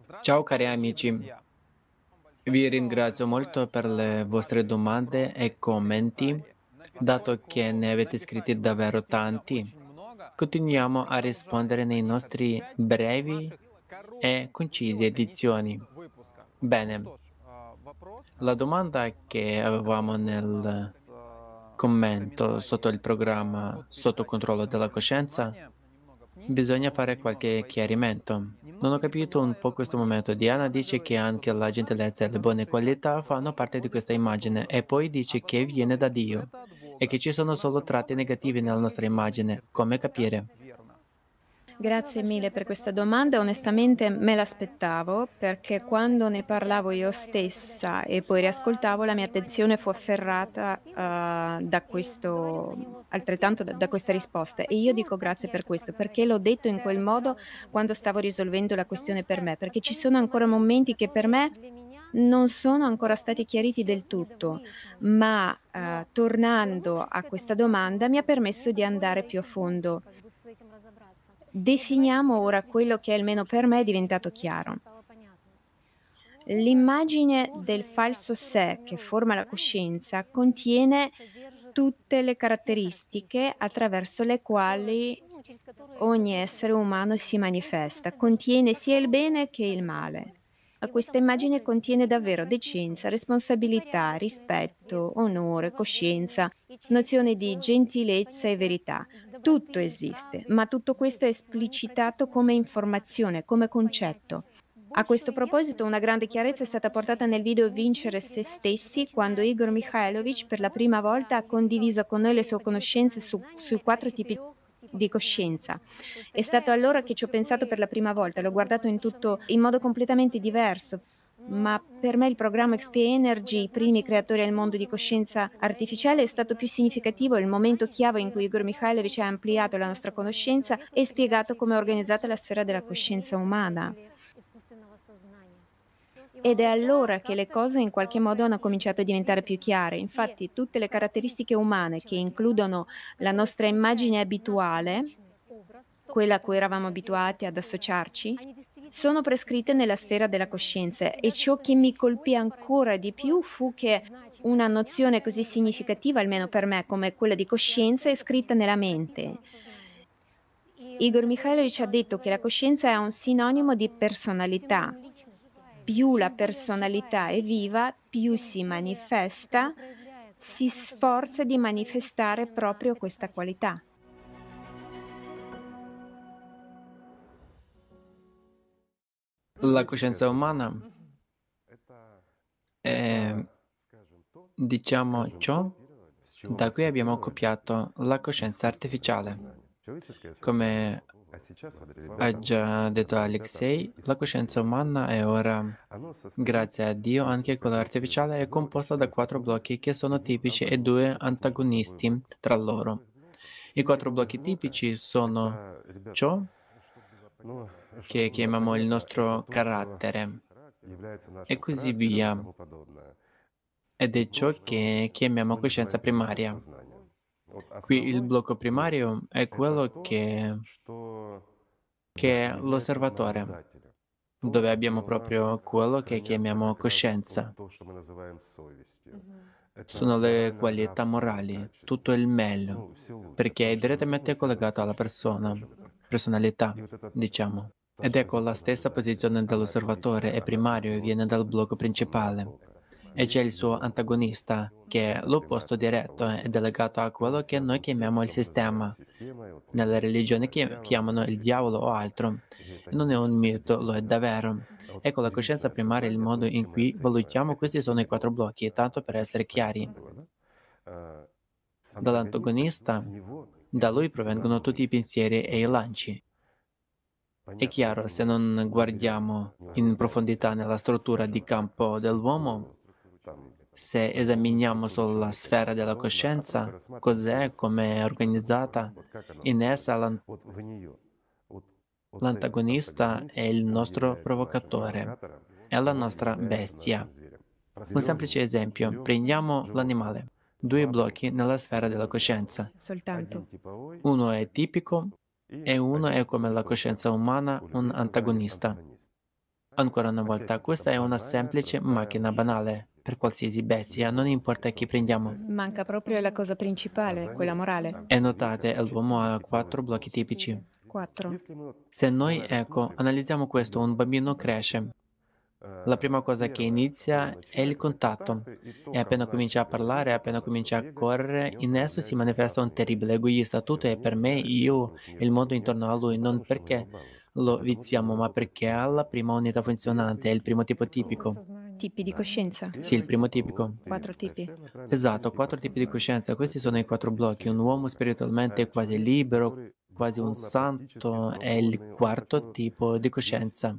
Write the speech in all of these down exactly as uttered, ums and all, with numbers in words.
Ciao cari amici, vi ringrazio molto per le vostre domande e commenti. Dato che ne avete scritti davvero tanti, continuiamo a rispondere nei nostri brevi e concisi edizioni. Bene, la domanda che avevamo nel commento sotto il programma Sotto controllo della coscienza, bisogna fare qualche chiarimento. Non ho capito un po' questo momento. Diana dice che anche la gentilezza e le buone qualità fanno parte di questa immagine e poi dice che viene da Dio e che ci sono solo tratti negativi nella nostra immagine. Come capire? Grazie mille per questa domanda. Onestamente me l'aspettavo perché quando ne parlavo io stessa e poi riascoltavo, la mia attenzione fu afferrata, uhm, da questo altrettanto da da questa risposta. E io dico grazie per questo, perché l'ho detto in quel modo quando stavo risolvendo la questione per me, perché ci sono ancora momenti che per me non sono ancora stati chiariti del tutto, ma, uhm, tornando a questa domanda mi ha permesso di andare più a fondo. Definiamo ora quello che almeno per me è diventato chiaro. L'immagine del falso sé che forma la coscienza contiene tutte le caratteristiche attraverso le quali ogni essere umano si manifesta, contiene sia il bene che il male. Ma questa immagine contiene davvero decenza, responsabilità, rispetto, onore, coscienza, nozione di gentilezza e verità. Tutto esiste, ma tutto questo è esplicitato come informazione, come concetto. A questo proposito, una grande chiarezza è stata portata nel video Vincere se stessi, quando Igor Mikhailovich per la prima volta ha condiviso con noi le sue conoscenze su- sui quattro tipi di coscienza. È stato allora che ci ho pensato per la prima volta, l'ho guardato in tutto in modo completamente diverso. Ma per me il programma X P Energy, i primi creatori al mondo di coscienza artificiale, è stato più significativo, il momento chiave in cui Igor Mikhailovich ha ampliato la nostra conoscenza e spiegato come è organizzata la sfera della coscienza umana. Ed è allora che le cose in qualche modo hanno cominciato a diventare più chiare. Infatti tutte le caratteristiche umane che includono la nostra immagine abituale, quella a cui eravamo abituati ad associarci, sono prescritte nella sfera della coscienza e ciò che mi colpì ancora di più fu che una nozione così significativa, almeno per me, come quella di coscienza, è scritta nella mente. Igor Mikhailovich ha detto che la coscienza è un sinonimo di personalità. Più la personalità è viva, più si manifesta, si sforza di manifestare proprio questa qualità. La coscienza umana è, diciamo, ciò da cui abbiamo copiato la coscienza artificiale. Come ha già detto Alexei, la coscienza umana è ora, grazie a Dio, anche quella artificiale, è composta da quattro blocchi che sono tipici e due antagonisti tra loro. I quattro blocchi tipici sono ciò che chiamiamo il nostro carattere e così via, ed è ciò che chiamiamo coscienza primaria. Qui il blocco primario è quello che, che è l'osservatore, dove abbiamo proprio quello che chiamiamo coscienza. Sono le qualità morali, tutto il meglio, perché è direttamente collegato alla persona, personalità, diciamo. Ed ecco la stessa posizione dell'osservatore è primario e viene dal blocco principale. E c'è il suo antagonista, che è l'opposto diretto ed è legato a quello che noi chiamiamo il sistema. Nelle religioni chi- chiamano il diavolo o altro. E non è un mito, lo è davvero. Ecco, la coscienza primaria è il modo in cui valutiamo questi sono i quattro blocchi, tanto per essere chiari. Dall'antagonista, da lui provengono tutti i pensieri e i lanci. È chiaro, se non guardiamo in profondità nella struttura di campo dell'uomo, se esaminiamo solo la sfera della coscienza, cos'è, come è organizzata, in essa l'an- l'antagonista è il nostro provocatore, è la nostra bestia. Un semplice esempio, prendiamo l'animale, due blocchi nella sfera della coscienza. Soltanto. Uno è tipico e uno è come la coscienza umana, un antagonista. Ancora una volta, questa è una semplice macchina banale per qualsiasi bestia, non importa chi prendiamo. Manca proprio la cosa principale, quella morale. E notate, l'uomo ha quattro blocchi tipici. quattro. Se noi, ecco, analizziamo questo, un bambino cresce. La prima cosa che inizia è il contatto e appena comincia a parlare, appena comincia a correre, in esso si manifesta un terribile egoista. Tutto è per me, io e il mondo intorno a lui, non perché lo viziamo, ma perché ha la prima unità funzionante, è il primo tipo tipico. Tipi di coscienza. Sì, il primo tipico. quattro tipi. Esatto, quattro tipi di coscienza. Questi sono i quattro blocchi. Un uomo spiritualmente quasi libero, quasi un santo, è il quarto tipo di coscienza.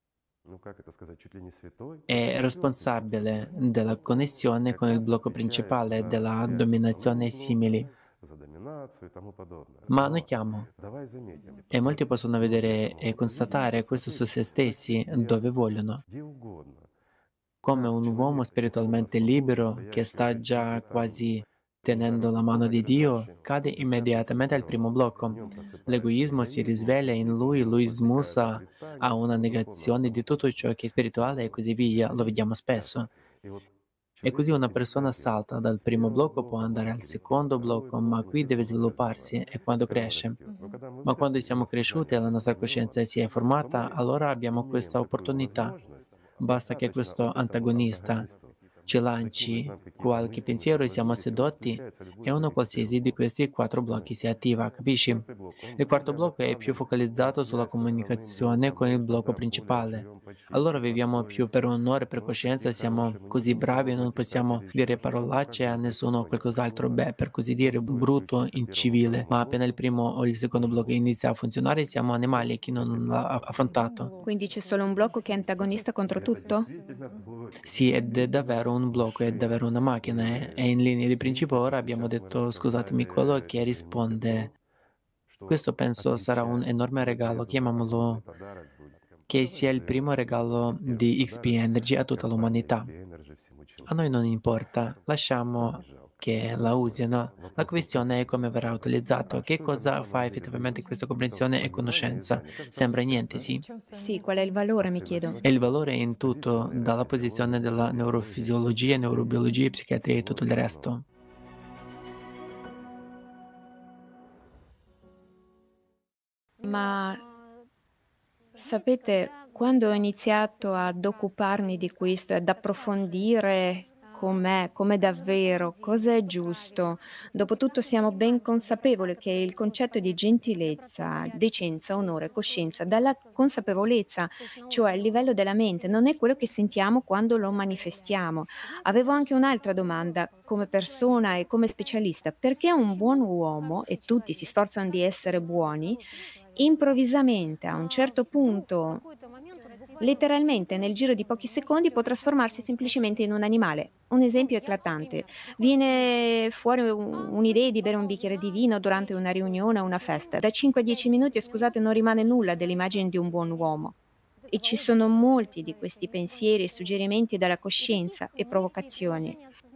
È responsabile della connessione con il blocco principale della dominazione e simili. Ma notiamo, e molti possono vedere e constatare questo su se stessi dove vogliono, come un uomo spiritualmente libero che sta già quasi tenendo la mano di Dio, cade immediatamente al primo blocco. L'egoismo si risveglia in lui, lui smussa a una negazione di tutto ciò che è spirituale e così via, lo vediamo spesso. E così una persona salta dal primo blocco, può andare al secondo blocco, ma qui deve svilupparsi e quando cresce. Mh-mh. Ma quando siamo cresciuti e la nostra coscienza si è formata, allora abbiamo questa opportunità. Basta che questo antagonista ci lanci qualche pensiero e siamo sedotti e uno qualsiasi di questi quattro blocchi si attiva, capisci? Il quarto blocco è più focalizzato sulla comunicazione con il blocco principale. Allora viviamo più per onore, per coscienza, siamo così bravi, non possiamo dire parolacce a nessuno o qualcos'altro, beh, per così dire, brutto, incivile. Ma appena il primo o il secondo blocco inizia a funzionare, siamo animali e chi non l'ha affrontato. Quindi c'è solo un blocco che è antagonista contro tutto? Sì, ed è davvero un blocco, è davvero una macchina e e in linea di principio ora abbiamo detto, scusatemi, quello che risponde. Questo penso sarà un enorme regalo, chiamiamolo che sia il primo regalo di X P Energy a tutta l'umanità. A noi non importa, lasciamo che la usino. La questione è come verrà utilizzato, che cosa fa effettivamente questa comprensione e conoscenza. Sembra niente, sì? Sì, qual è il valore, mi chiedo. E il valore è in tutto, dalla posizione della neurofisiologia, neurobiologia, psichiatria e tutto il resto. Ma sapete, quando ho iniziato ad occuparmi di questo e ad approfondire com'è, com'è davvero, cosa è giusto, dopotutto siamo ben consapevoli che il concetto di gentilezza, decenza, onore, coscienza, dalla consapevolezza, cioè il livello della mente, non è quello che sentiamo quando lo manifestiamo. Avevo anche un'altra domanda, come persona e come specialista, perché un buon uomo, e tutti si sforzano di essere buoni, improvvisamente a un certo punto, letteralmente nel giro di pochi secondi, può trasformarsi semplicemente in un animale. Un esempio eclatante: viene fuori u un'idea di bere un bicchiere di vino durante una riunione o una festa. Da cinque a dieci minuti, scusate, non rimane nulla dell'immagine di un buon uomo. E ci sono molti di questi pensieri e suggerimenti dalla coscienza e provocazioni.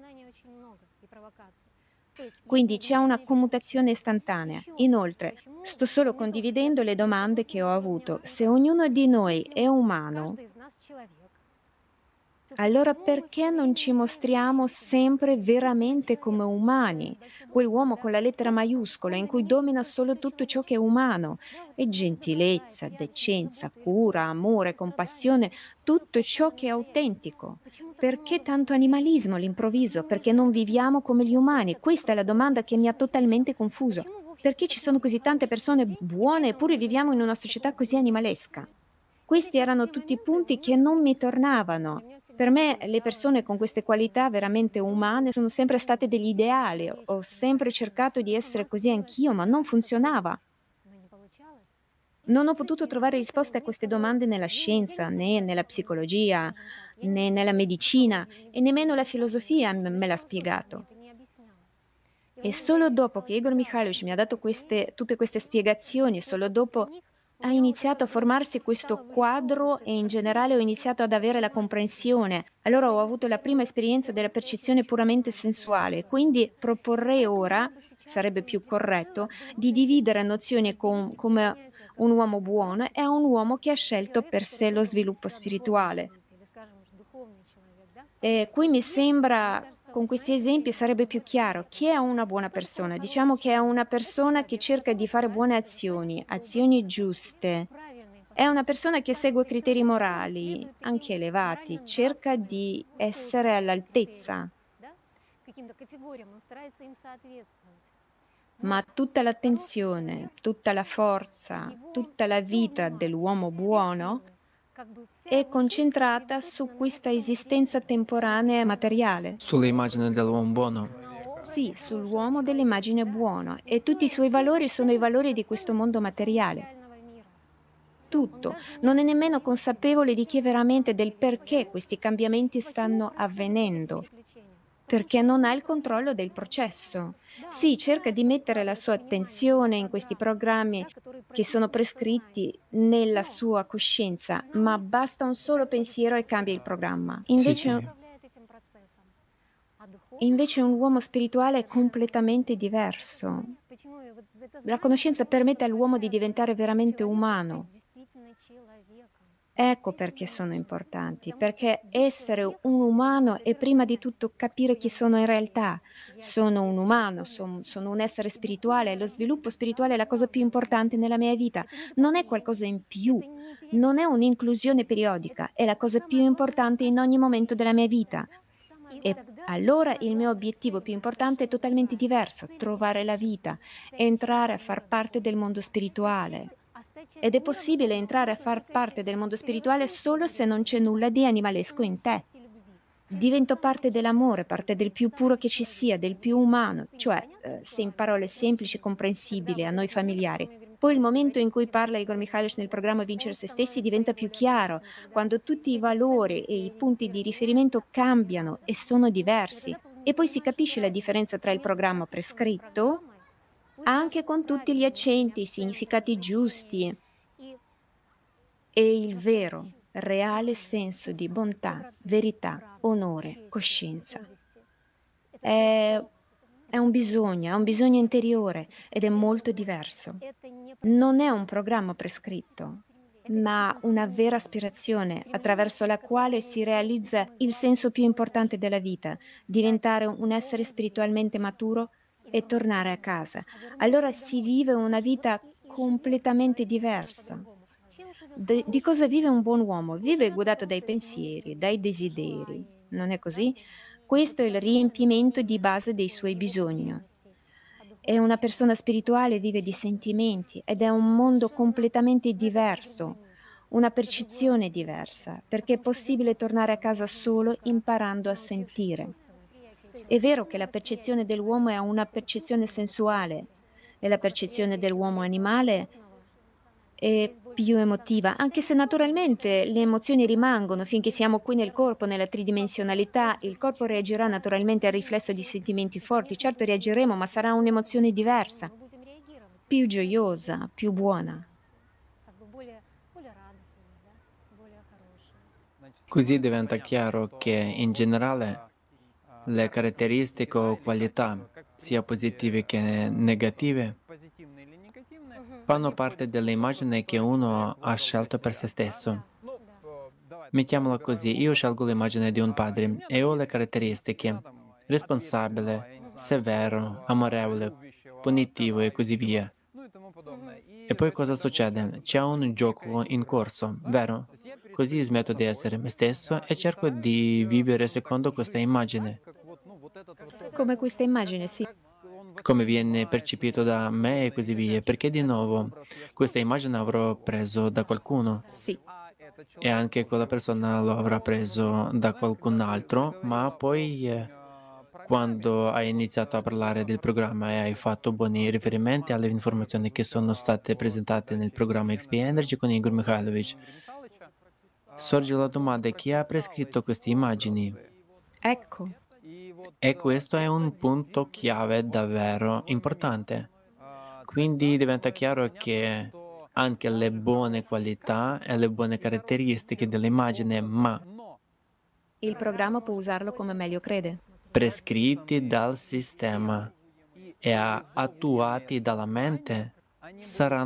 Quindi c'è una commutazione istantanea. Inoltre, sto solo condividendo le domande che ho avuto. Se ognuno di noi è umano, allora perché non ci mostriamo sempre veramente come umani? Quell'uomo con la lettera maiuscola in cui domina solo tutto ciò che è umano. E gentilezza, decenza, cura, amore, compassione, tutto ciò che è autentico. Perché tanto animalismo all'improvviso? Perché non viviamo come gli umani? Questa è la domanda che mi ha totalmente confuso. Perché ci sono così tante persone buone eppure viviamo in una società così animalesca? Questi erano tutti punti che non mi tornavano. Per me le persone con queste qualità veramente umane sono sempre state degli ideali. Ho sempre cercato di essere così anch'io, ma non funzionava. Non ho potuto trovare risposte a queste domande nella scienza, né nella psicologia, né nella medicina e nemmeno la filosofia m- me l'ha spiegato. E solo dopo che Igor Mikhailovich mi ha dato queste, tutte queste spiegazioni, solo dopo ha iniziato a formarsi questo quadro e in generale ho iniziato ad avere la comprensione. Allora ho avuto la prima esperienza della percezione puramente sensuale, quindi proporrei ora, sarebbe più corretto, di dividere nozioni com- come un uomo buono è un uomo che ha scelto per sé lo sviluppo spirituale. E qui mi sembra, con questi esempi sarebbe più chiaro chi è una buona persona. Diciamo che è una persona che cerca di fare buone azioni, azioni giuste. È una persona che segue criteri morali, anche elevati, cerca di essere all'altezza. Ma tutta l'attenzione, tutta la forza, tutta la vita dell'uomo buono è concentrata su questa esistenza temporanea e materiale. Sull'immagine dell'uomo buono. Sì, sull'uomo dell'immagine buono e tutti i suoi valori sono i valori di questo mondo materiale. Tutto. Non è nemmeno consapevole di chi è veramente, del perché questi cambiamenti stanno avvenendo, perché non ha il controllo del processo. Sì, cerca di mettere la sua attenzione in questi programmi che sono prescritti nella sua coscienza, ma basta un solo pensiero e cambia il programma. Sì, Invece, sì. invece un uomo spirituale è completamente diverso. La conoscenza permette all'uomo di diventare veramente umano. Ecco perché sono importanti, perché essere un umano è prima di tutto capire chi sono in realtà. Sono un umano, son- sono un essere spirituale e lo sviluppo spirituale è la cosa più importante nella mia vita. Non è qualcosa in più, non è un'inclusione periodica, è la cosa più importante in ogni momento della mia vita. E allora il mio obiettivo più importante è totalmente diverso, trovare la vita, entrare a far parte del mondo spirituale. Ed è possibile entrare a far parte del mondo spirituale solo se non c'è nulla di animalesco in te. Divento parte dell'amore, parte del più puro che ci sia, del più umano, cioè, eh, se in parole semplici e comprensibili a noi familiari. Poi il momento in cui parla Igor Mikhailovich nel programma Vincere se stessi diventa più chiaro, quando tutti i valori e i punti di riferimento cambiano e sono diversi. E poi si capisce la differenza tra il programma prescritto, anche con tutti gli accenti, i significati giusti, e il vero, reale senso di bontà, verità, onore, coscienza. È, è un bisogno, è un bisogno interiore ed è molto diverso. Non è un programma prescritto, ma una vera aspirazione attraverso la quale si realizza il senso più importante della vita, diventare un essere spiritualmente maturo e tornare a casa. Allora si vive una vita completamente diversa. De- di cosa vive un buon uomo? Vive guidato dai pensieri, dai desideri, non è così? Questo è il riempimento di base dei suoi bisogni. E una persona spirituale vive di sentimenti ed è un mondo completamente diverso, una percezione diversa, perché è possibile tornare a casa solo imparando a sentire. È vero che la percezione dell'uomo è una percezione sensuale e la percezione dell'uomo animale è più emotiva, anche se naturalmente le emozioni rimangono finché siamo qui nel corpo, nella tridimensionalità, il corpo reagirà naturalmente al riflesso di sentimenti forti, certo reagiremo, ma sarà un'emozione diversa, più gioiosa, più buona. Così diventa chiaro che in generale le caratteristiche o qualità, sia positive che negative, fanno parte dell'immagine che uno ha scelto per se stesso. Mettiamola così, io scelgo l'immagine di un padre e ho le caratteristiche: responsabile, severo, amorevole, punitivo e così via. E poi cosa succede? C'è un gioco in corso, vero? Così smetto di essere me stesso e cerco di vivere secondo questa immagine, Come questa immagine, sì. come viene percepito da me e così via, perché di nuovo questa immagine avrò preso da qualcuno Sì. e anche quella persona lo avrà preso da qualcun altro, ma poi eh, quando hai iniziato a parlare del programma e hai fatto buoni riferimenti alle informazioni che sono state presentate nel programma X P Energy con Igor Mikhailovich, sorge la domanda: chi ha prescritto queste immagini? Ecco. E questo è un punto chiave davvero importante. Quindi diventa chiaro che anche le buone qualità e le buone caratteristiche dell'immagine, ma Il programma può usarlo come meglio crede. prescritti dal sistema e a- attuati dalla mente, saranno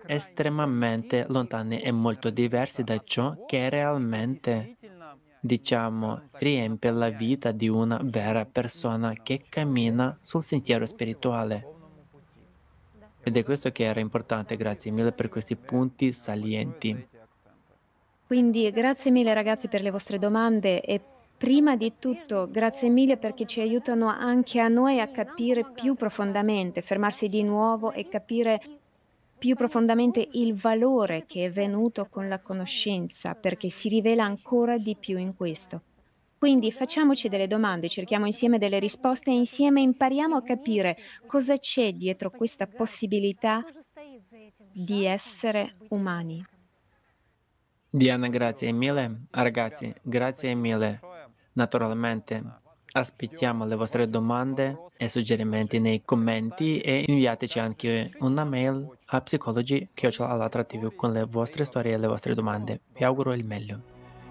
estremamente lontani e molto diversi da ciò che realmente, diciamo, riempie la vita di una vera persona che cammina sul sentiero spirituale. Ed è questo che era importante. Grazie mille per questi punti salienti. Quindi grazie mille ragazzi per le vostre domande e prima di tutto grazie mille perché ci aiutano anche a noi a capire più profondamente, fermarsi di nuovo e capire più profondamente il valore che è venuto con la conoscenza, perché si rivela ancora di più in questo. Quindi facciamoci delle domande, cerchiamo insieme delle risposte e insieme impariamo a capire cosa c'è dietro questa possibilità di essere umani. Diana, grazie mille. Ragazzi, grazie mille. Naturalmente, aspettiamo le vostre domande e suggerimenti nei commenti e inviateci anche una mail a psicologi chiocciola allatra tivù con le vostre storie e le vostre domande. Vi auguro il meglio.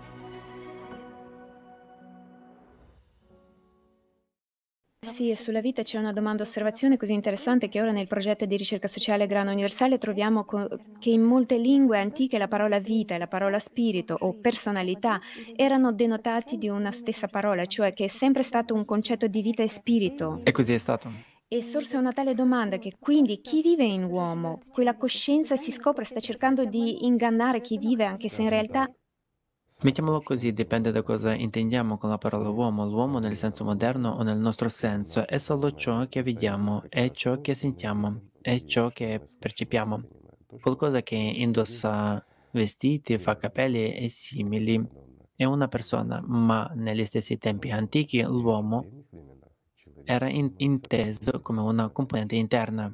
Sì, e sulla vita c'è una domanda osservazione così interessante che ora nel progetto di ricerca sociale Grano Universale troviamo co- che in molte lingue antiche la parola vita e la parola spirito o personalità erano denotati di una stessa parola, cioè che è sempre stato un concetto di vita e spirito. E così è stato. E sorse una tale domanda che quindi chi vive in uomo, quella coscienza si scopre, sta cercando di ingannare chi vive, anche se in realtà Mettiamolo così, dipende da cosa intendiamo con la parola uomo. L'uomo nel senso moderno o nel nostro senso è solo ciò che vediamo, è ciò che sentiamo, è ciò che percepiamo. Qualcosa che indossa vestiti, fa capelli e simili è una persona, ma negli stessi tempi antichi l'uomo era in- inteso come una componente interna.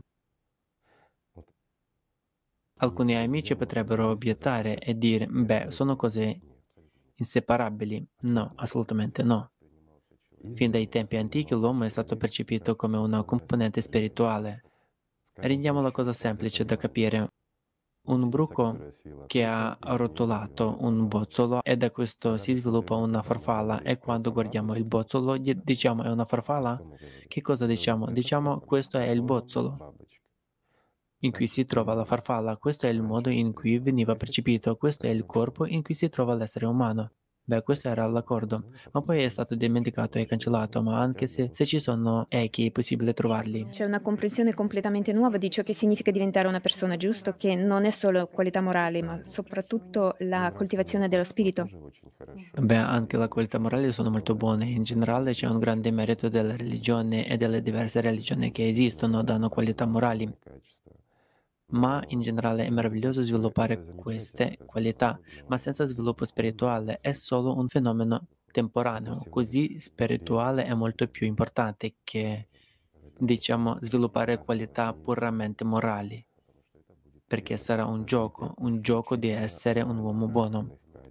Alcuni amici potrebbero obiettare e dire, beh, sono cose inseparabili. No, assolutamente no. Fin dai tempi antichi l'uomo è stato percepito come una componente spirituale. Rendiamo la cosa semplice da capire. Un bruco che ha arrotolato un bozzolo e da questo si sviluppa una farfalla e quando guardiamo il bozzolo gli diciamo è una farfalla? Che cosa diciamo? Diciamo questo è il bozzolo in cui si trova la farfalla, questo è il modo in cui veniva percepito, questo è il corpo in cui si trova l'essere umano. Beh, questo era l'accordo, ma poi è stato dimenticato e cancellato, ma anche se, se ci sono echi è possibile trovarli. c'è una comprensione completamente nuova di ciò che significa diventare una persona, giusto? Che non è solo qualità morali, ma soprattutto la coltivazione dello spirito. Beh, anche le qualità morali sono molto buone, in generale c'è un grande merito della religione e delle diverse religioni che esistono, danno qualità morali. Ma in generale è meraviglioso sviluppare queste qualità, ma senza sviluppo spirituale è solo un fenomeno temporaneo, così spirituale è molto più importante che, diciamo, sviluppare qualità puramente morali, perché sarà un gioco, un gioco di essere un uomo buono.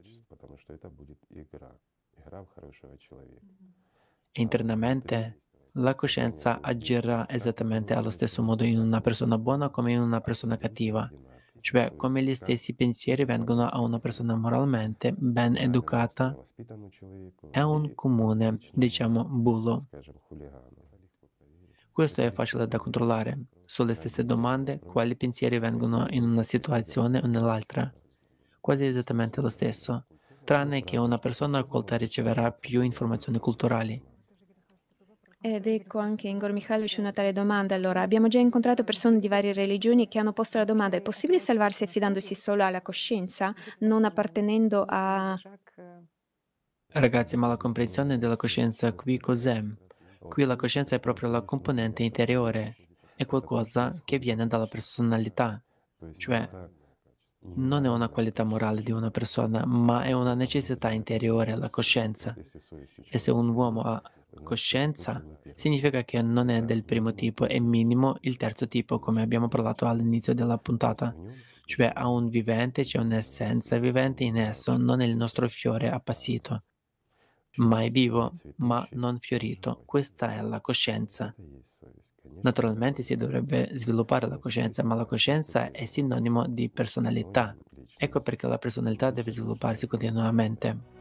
E internamente la coscienza agirà esattamente allo stesso modo in una persona buona come in una persona cattiva, cioè come gli stessi pensieri vengono a una persona moralmente ben educata è un comune, diciamo, bullo. Questo è facile da controllare. Sulle stesse domande, quali pensieri vengono in una situazione o nell'altra? Quasi esattamente lo stesso, tranne che una persona colta riceverà più informazioni culturali. Ed ecco anche Igor Mikhailovich una tale domanda. Allora, abbiamo già incontrato persone di varie religioni che hanno posto la domanda: è possibile salvarsi affidandosi solo alla coscienza, non appartenendo a... Ragazzi, ma la comprensione della coscienza qui cos'è? Qui la coscienza è proprio la componente interiore, è qualcosa che viene dalla personalità, cioè non è una qualità morale di una persona, ma è una necessità interiore, la coscienza. E se un uomo ha coscienza, significa che non è del primo tipo, è minimo il terzo tipo, come abbiamo parlato all'inizio della puntata. Cioè ha un vivente, c'è un'essenza vivente in esso, non è il nostro fiore appassito, ma è vivo, ma non fiorito. Questa è la coscienza. Naturalmente si dovrebbe sviluppare la coscienza, ma la coscienza è sinonimo di personalità. Ecco perché la personalità deve svilupparsi continuamente.